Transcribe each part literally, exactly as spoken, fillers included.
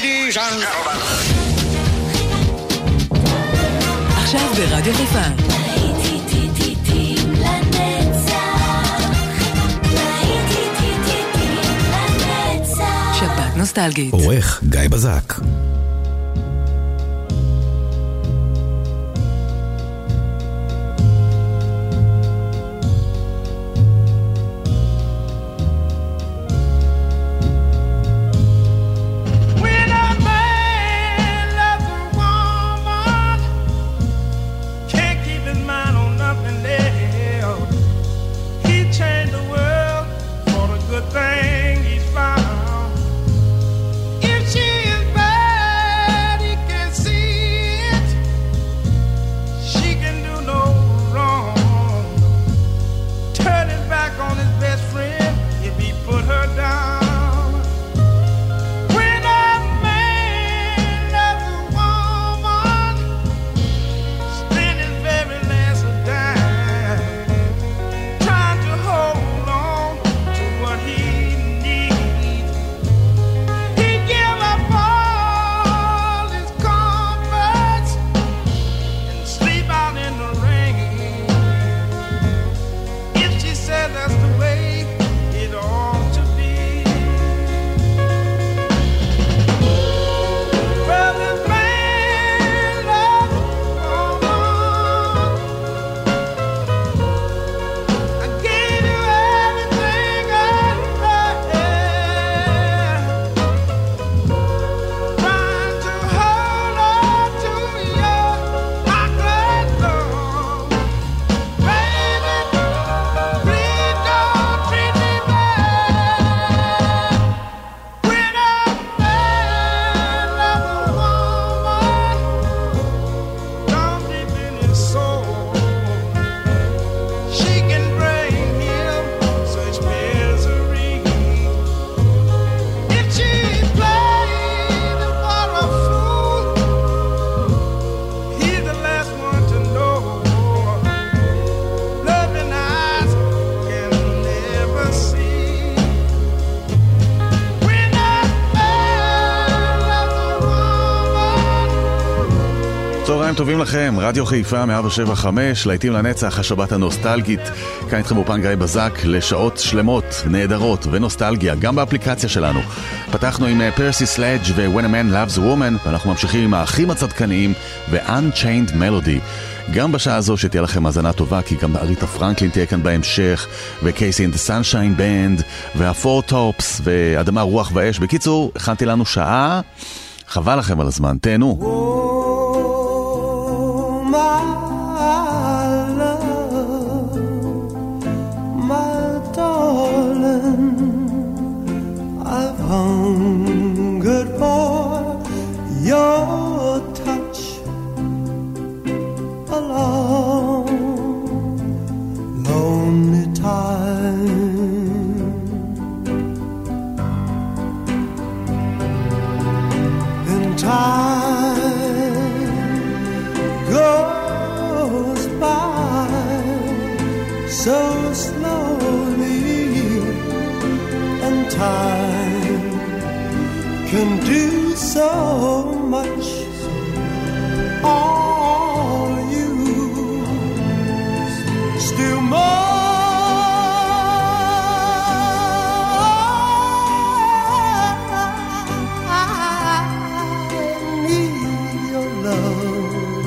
Ladies and gentlemen. עכשיו ברדיו חיפה. שבת נוסטלגית. עורך גיא בזק. טובים לכם, רדיו חיפה מאה שבע חמש, להיטים לנצח, השבת הנוסטלגית. כאן איתכם אופן גיא בזק לשעות שלמות, נהדרות ונוסטלגיה, גם באפליקציה שלנו. פתחנו עם פרסי סלאג' ו-When a Man Loves a Woman, ואנחנו ממשיכים עם האחים הצדקניים ו-Unchained Melody. גם בשעה הזו שתהיה לכם האזנה טובה, כי גם אריתה פרנקלין תהיה כאן בהמשך, ו-Casey and the Sunshine Band, וה-Four Tops, ואדמה רוח ואש. בקיצור, הכנתי לנו שעה, חבל לכם על הזמן, תהנו. Hungered for your touch a long, lonely time. And time goes by so slowly, and time can do so much. All you still more. I need your love.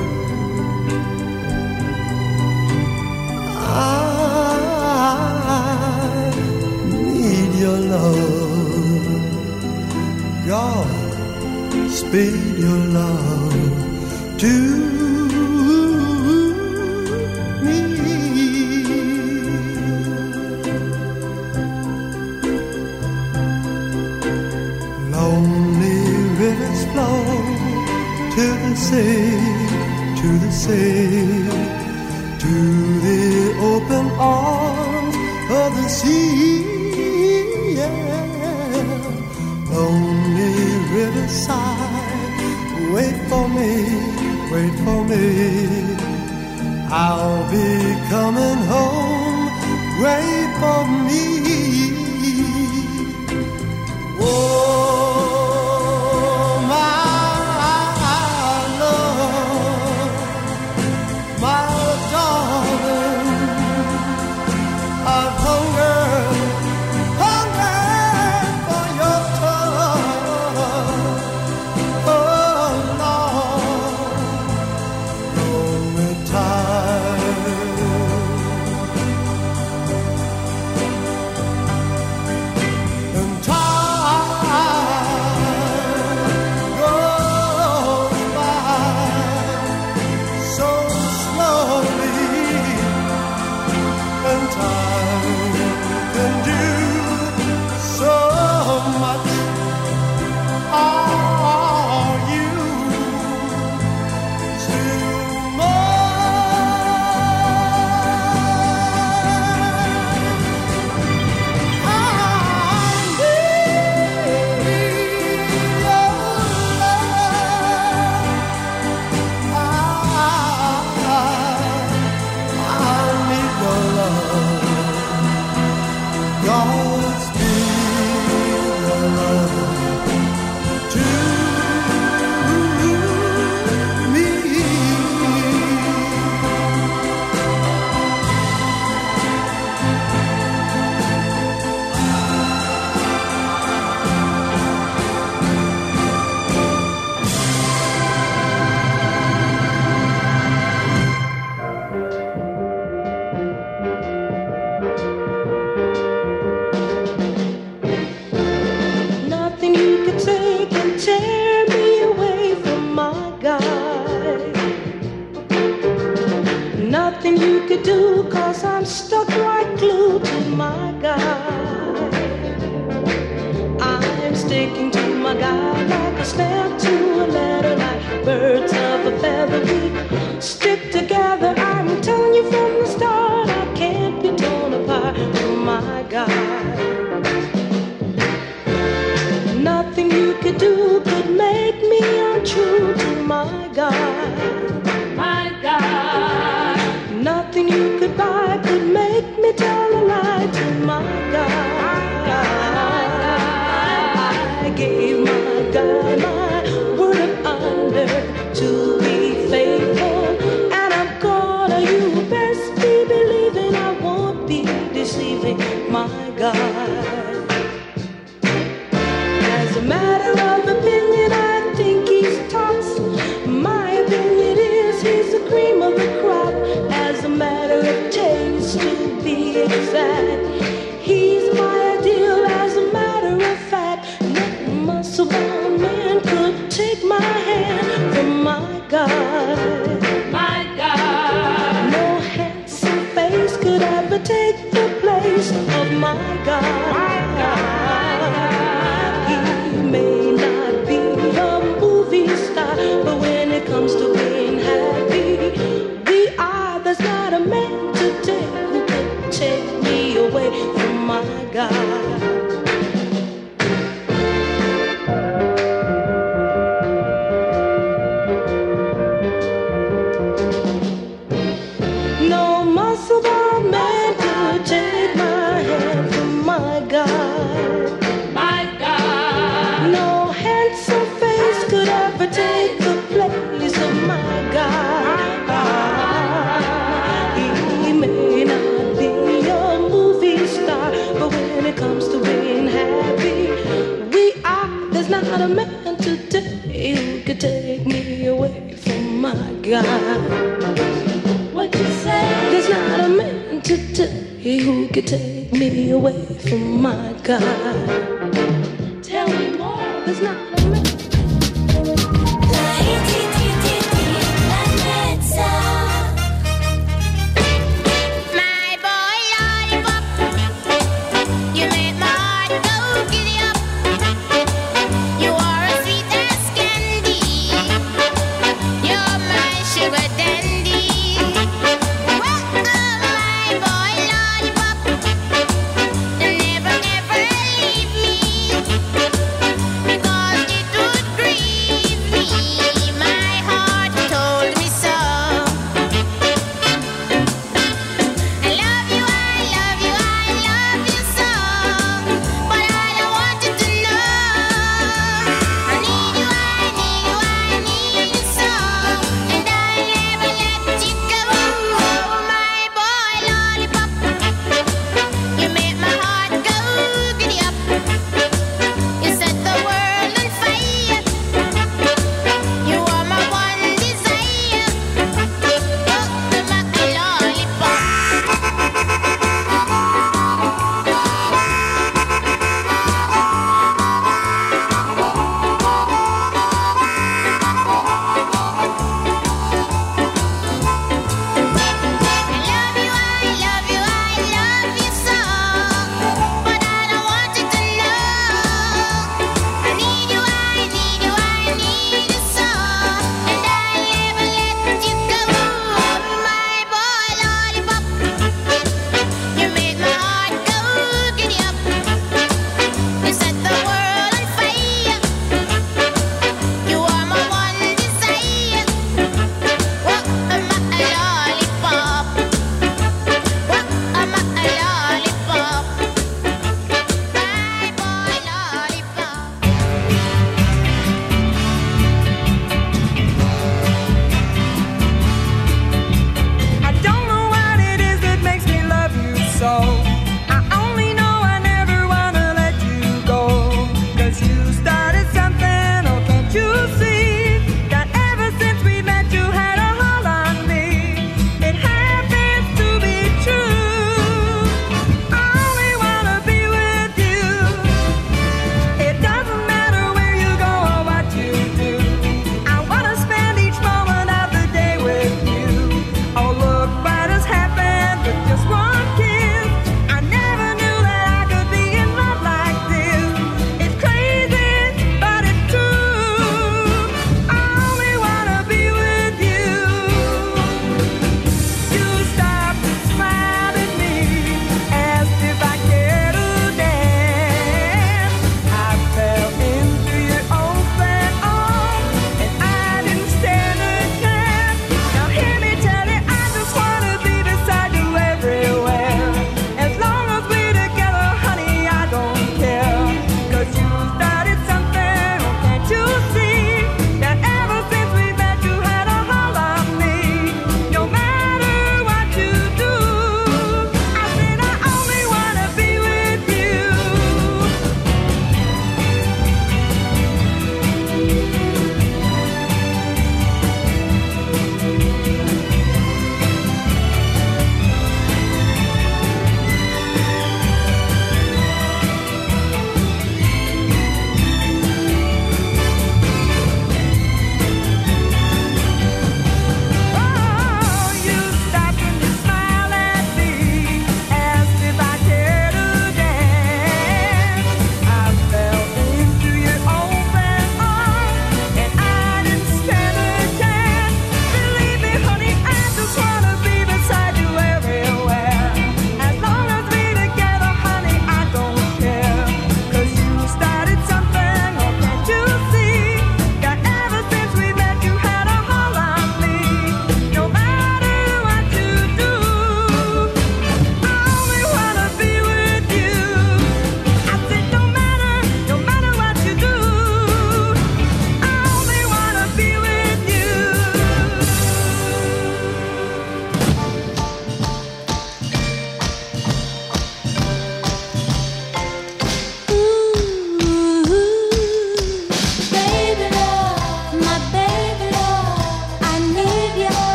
I need your love. God, speed your love to me. Lonely rivers flow to the sea, to the sea, to the open arms of the sea. Yeah. Lonely riverside, wait for me, wait for me. I'll be coming home, wait for me. Oh, my nothing you could do, 'cause I'm stuck like glue to my guy. I'm sticking to my guy like a stamp to a letter, like birds of a feather. We stick together. I'm telling you from the start, I can't be torn apart from my guy. Nothing you could do could make me untrue to my guy. My guy. Nothing you could buy could make me tell a lie to my guy. I gave my guy my word of honor to be faithful, and I'm gonna, you best be believing I won't be deceiving my guy. As a matter of opinion, I think he's tops. My opinion is he's the cream of the crop. As a matter of taste, to be exact, he's my ideal. As a matter of fact, no muscle-bound man could take my hand from my guy. My guy. No handsome face could ever take the place of my guy. My guy. He may not be a movie star, but when it comes to being happy, we are. There's not a man today who could take me away from my guy. No muscle-bound man could take my hand from my guy. My guy. No handsome face could ever take the place of my guy. He may not be a movie star, but when it comes to being happy, we are. There's not a man today who could take me away from my guy. What you say? There's not a man today who could take me away from my guy. Tell me more. There's not a man. My boy lollipop, you make my heart go giddy up. You are as sweet as candy. You're my sugar dandy. Well, oh, my boy lollipop, never, never leave me, because it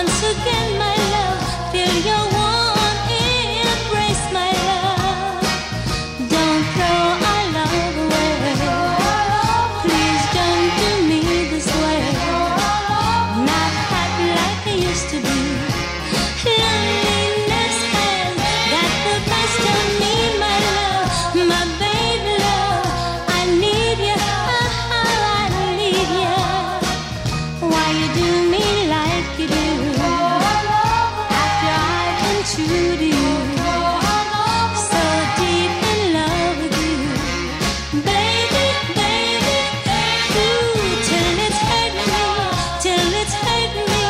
once again, my love, feel your warm embrace, my love. Don't throw our love away. Please don't do me this way. Not happy like I used to be. Loneliness has got the best of me, my love, my baby love. I need you, oh, I need you. Why you do me like you do? After I've been true to you, so deep in love with you, baby, baby, ooh, till it's hurt me, till it's hurt me,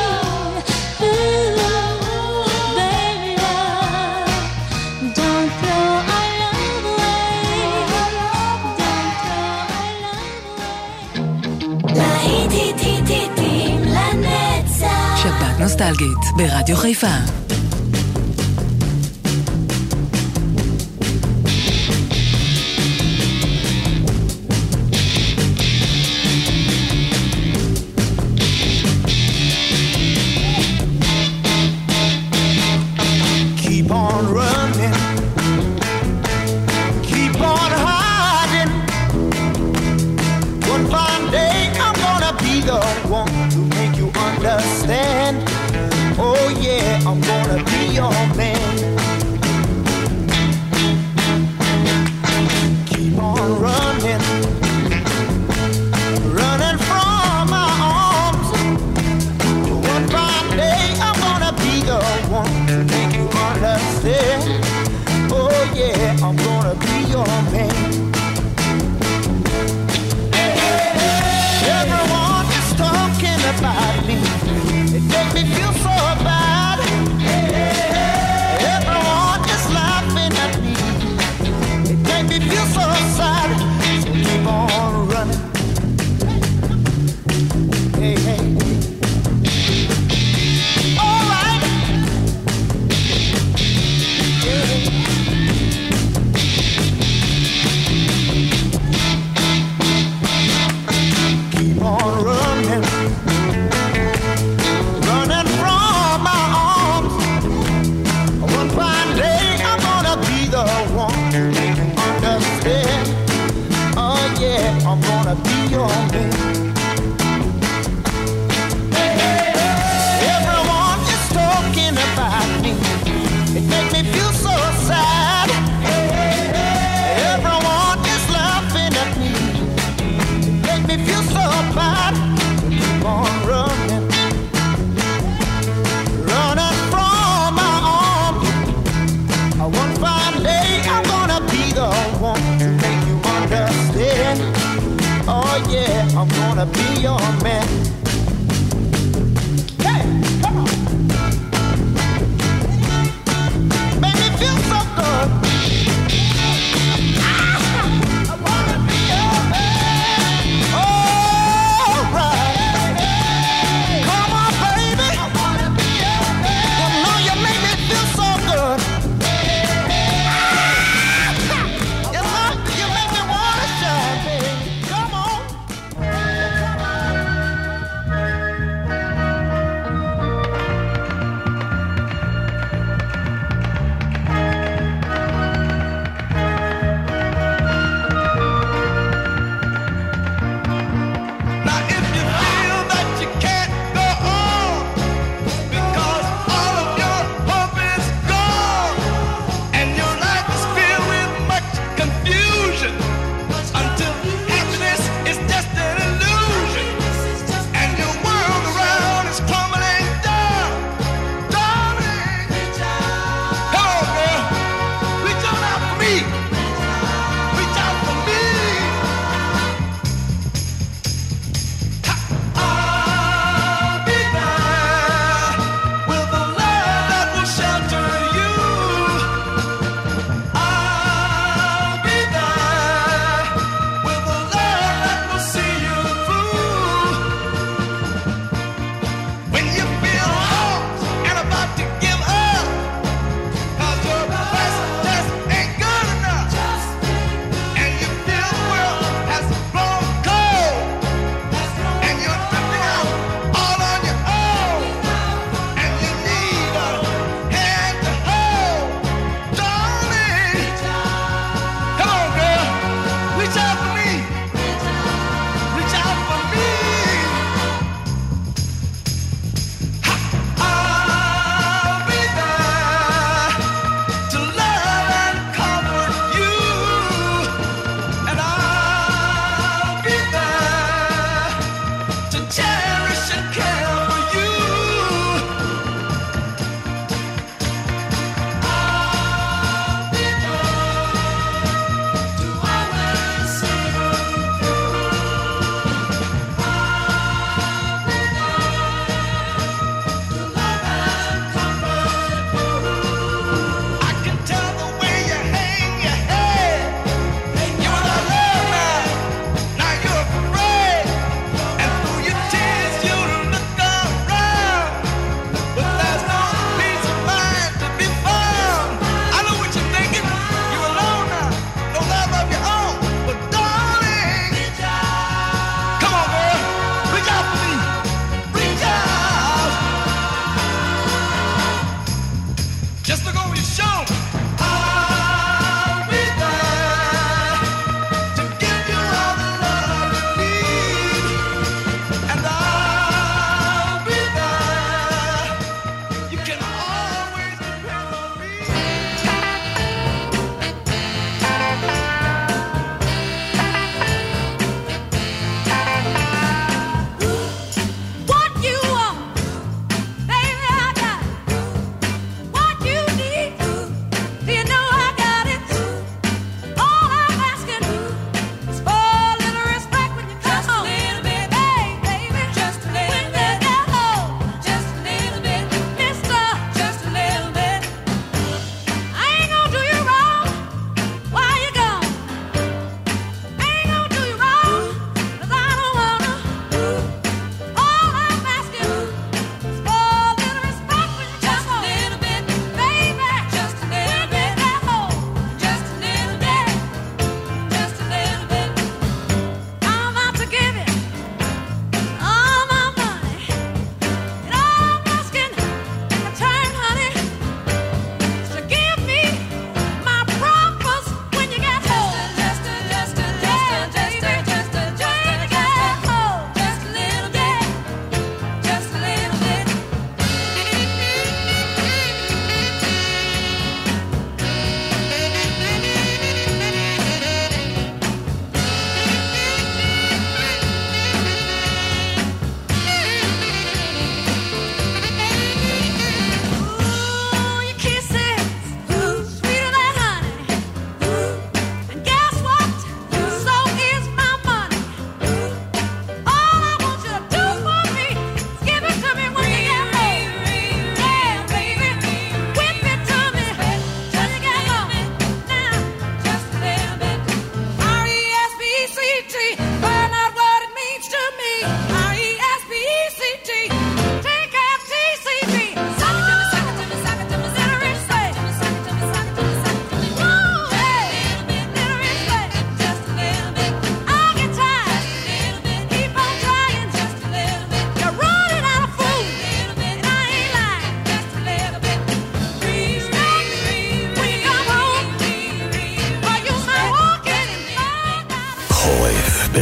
ooh, baby love, don't throw our love away, don't throw our love away. להיטים לנצח. שבת נוסטלגית ברדיו חיפה. Keep on running, keep on hiding. One fine day I'm gonna be the one to make you understand. Oh yeah, I'm gonna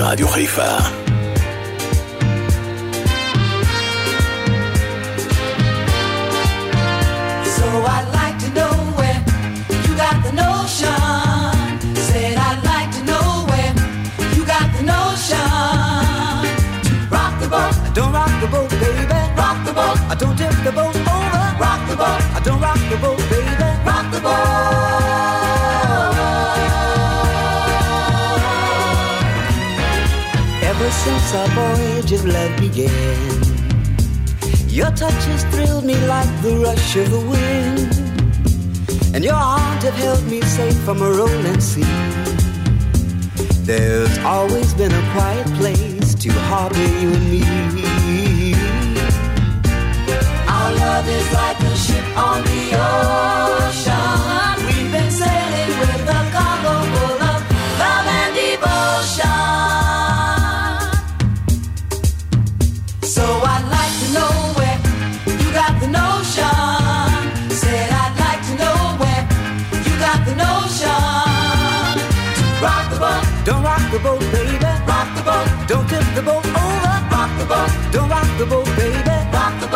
ברדיו חיפה. So I'd like to know where you got the notion. Said I'd like to know where you got the notion. Rock the boat, Don't rock the boat, baby. rock the boat, I don't tip the boat over. rock the boat, I don't rock the boat, baby. rock the boat. Ever since our voyage of love began, your touch has thrilled me like the rush of the wind, and your arms have held me safe from a rolling sea. There's always been a quiet place to harbor you and me. Our love is like a ship on the ocean. We've been sailing with a cargo full of love and devotion. So I'd like to know where you got the notion. Said I'd like to know where you got the notion. Rock the boat, Don't rock the boat, baby. rock the boat, Don't tip the boat over. rock the boat, Don't rock the boat, baby. rock the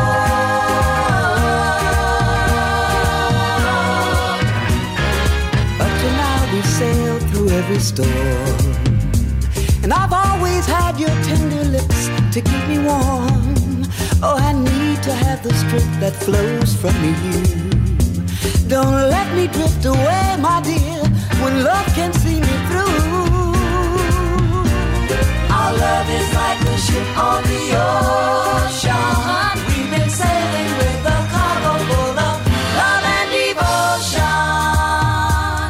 boat. Up to now we sailed through every storm, and I've always had your tender lips to keep me warm. Oh, I need to have the strength that flows from you. Don't let me drift away, my dear, when love can see me through. Our love is like a ship on the ocean. We've been sailing with a cargo full of love and devotion.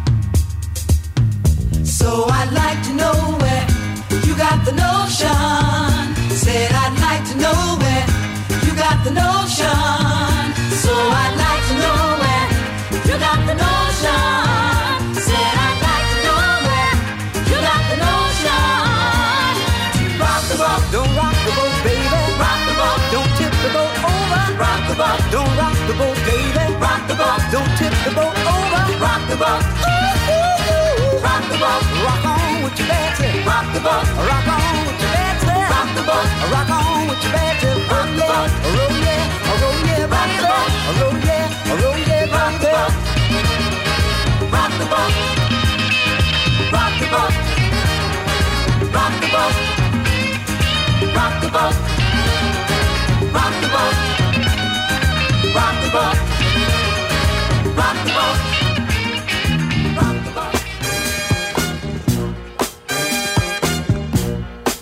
So I'd like to know where you got the notion. Said I'd like to know where you got the notion. So I'd like to know where you got the notion. Said I'd like to know where you got the notion. Rock the boat, Don't rock the boat, baby. rock the boat, Don't tip the boat over. rock the boat, Don't rock the boat, baby. rock the boat, Don't tip the boat over. rock the boat, rock the boat, Rock on with your bad tip. rock the boat, Rock on with your bad tip. rock the boat, Rock on with your bad tip. Rock the boat. Roll yeah, roll yeah, Rock the boat. roll yeah, roll yeah, rock the boat, rock the boat, rock the boat, rock the boat, rock the boat, rock the boat, rock the boat, rock the boat, rock the boat.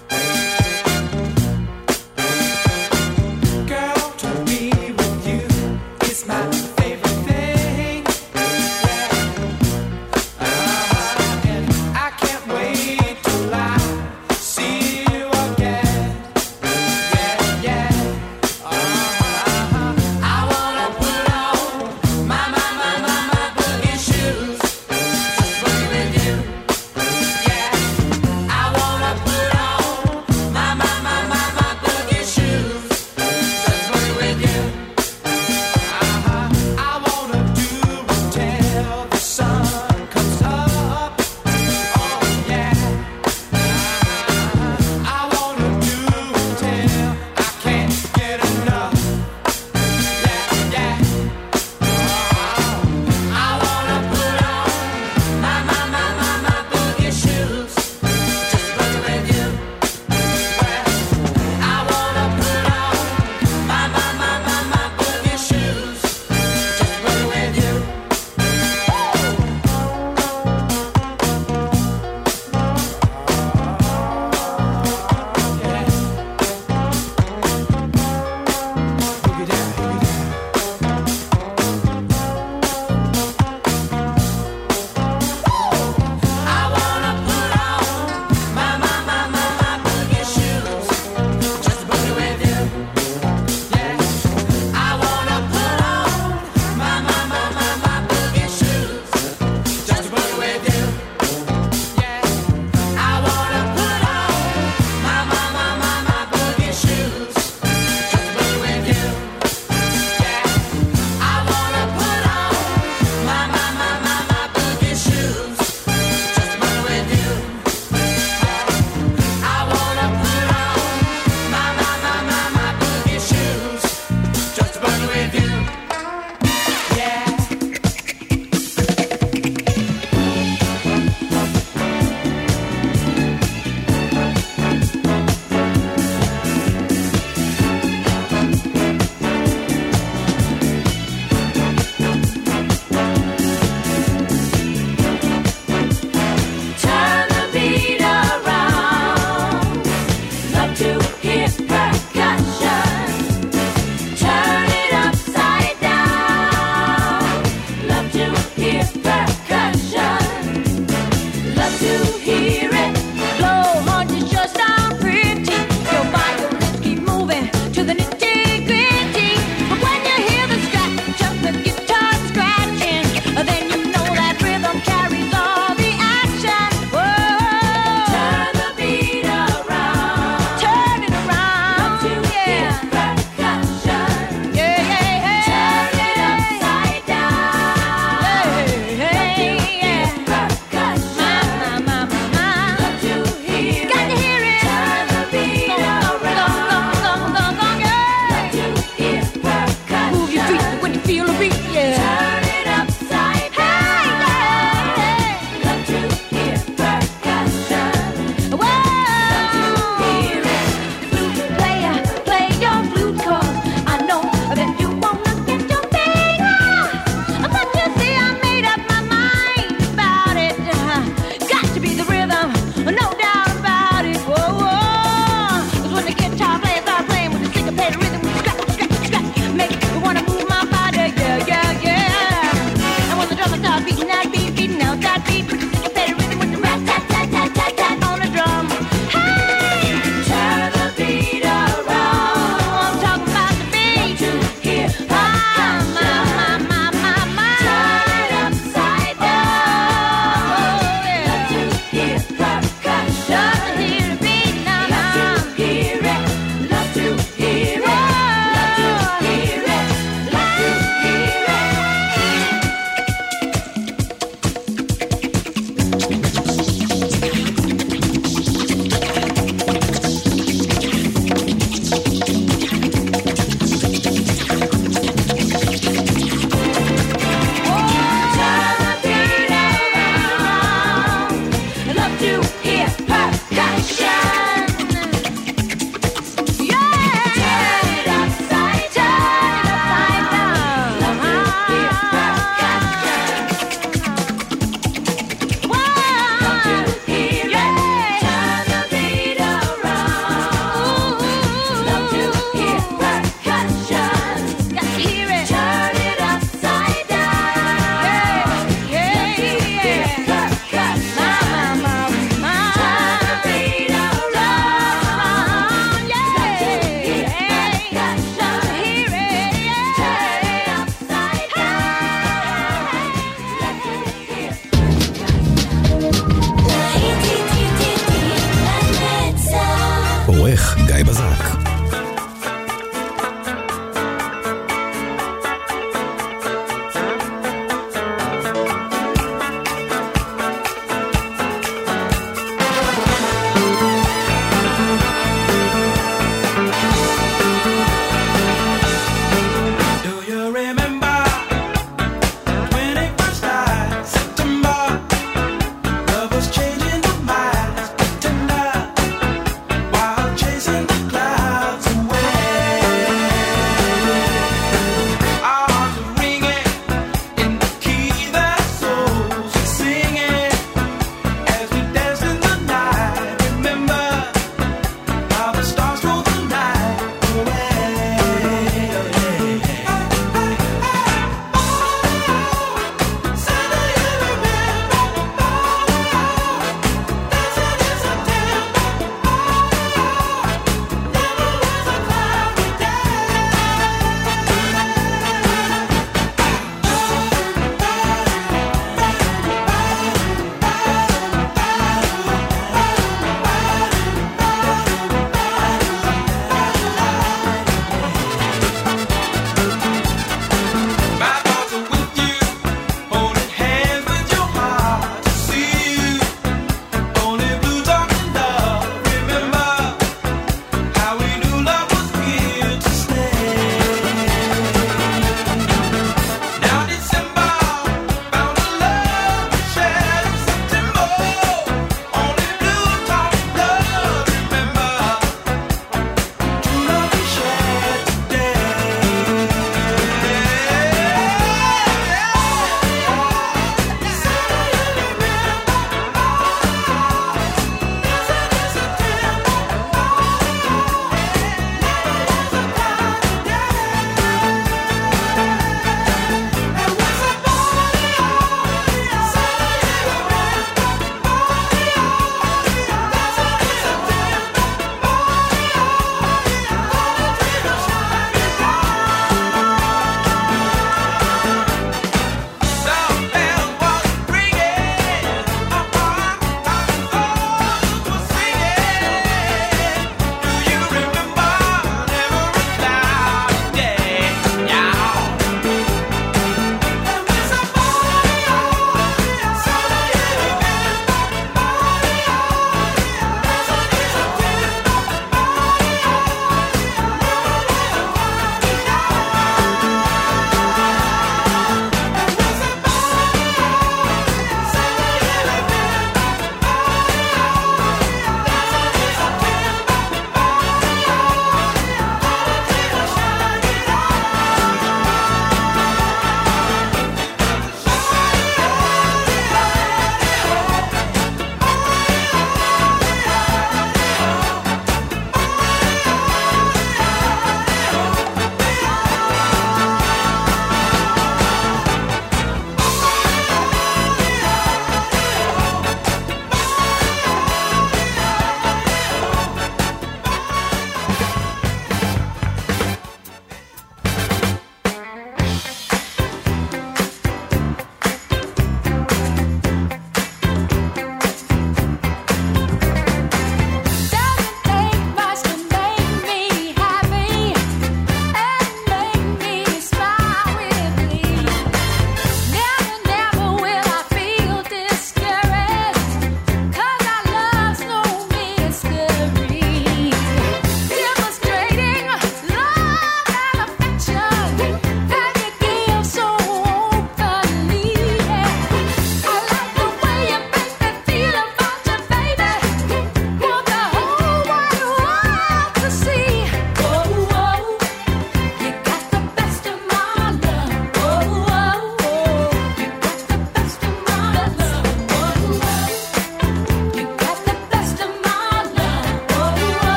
Girl, to be with you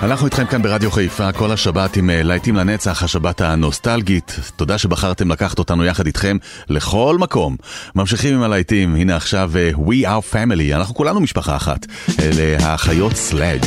אנחנו איתכם כאן ברדיו חיפה כל השבת עם להיטים לנצח, השבת הנוסטלגית. תודה שבחרתם לקחת אותנו יחד איתכם לכל מקום. ממשיכים עם הלהיטים, הנה עכשיו We Are Family, אנחנו כולנו משפחה אחת. אלה האחיות סלאג'.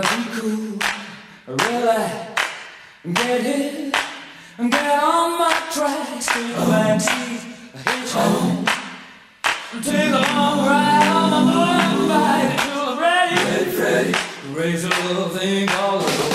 be cool. Really get hit and get on my tracks. Take a backseat, a hitchhike. Take a long ride on my motorbike until I'm ready. Ready, ready. Raise a little thing all over.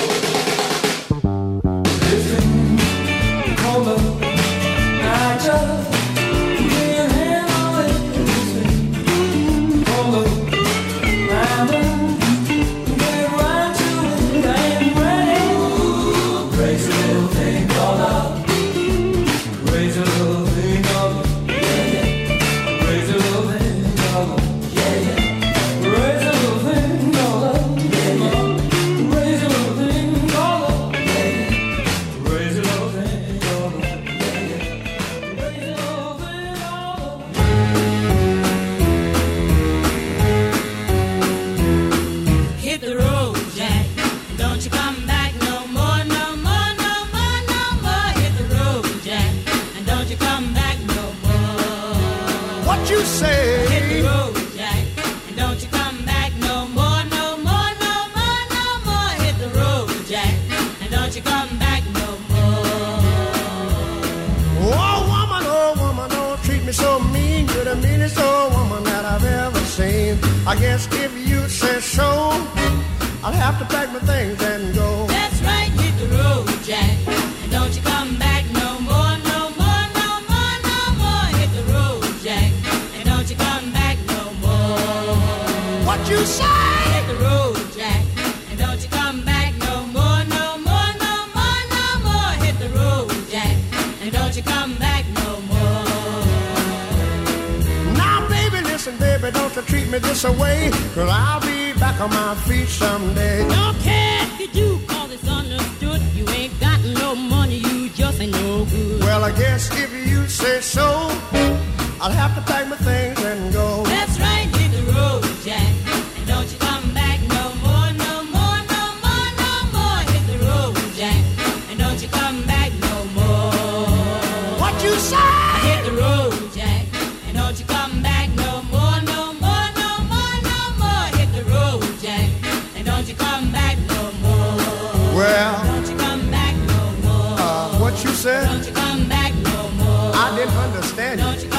This thing called love. I just can't handle it. This thing called love. I'm get right to it. I ain't ready. Raise a little thing called love. Raise a little thing called love. Raise a little thing called love. Yeah, yeah. Raise a little thing called love. Yeah, yeah. Raise a little thing called love. Yeah, yeah. Raise a little thing called love. Yeah, yeah. Raise a little thing called love. Hit the road, Jack. Don't you come back no more, no more, no more, no more. Hit the road, Jack. And don't you come back no more. What you say? Hit the road, Jack. And don't you come back no more, no more, no more, no more. Hit the road, Jack. And don't you come back no more. Oh woman, oh woman, don't treat me so mean. You're the meanest old woman that I've ever seen. I guess if you say so, I'll have to pack my things and go. That's right, hit the road, Jack. And don't you come back no more, no more, no more, no more. Hit the road, Jack. And don't you come back no more. What you say? Hit the road, Jack. And don't you come back no more, no more, no more, no more. Hit the road, Jack. And don't you come back no more. Now baby, listen baby, don't you treat me this away, 'cause I'll be back on my feet someday. Don't care if you do, cause it's understood. You ain't got no money, you just ain't no good. Well, I guess if you say so, I'll have to pack my things and go. That's right, hit the road, Jack. And don't you come back no more, no more, no more, no more. Hit the road, Jack. And don't you come back no more. What you say? Hit the road, Jack. And don't you come back no more, no more, no more, no more. Hit the road, Jack. And don't you come back no more. Well, Don't you come back no more. uh, what you said? Don't you come back no more. I didn't understand Don't you. you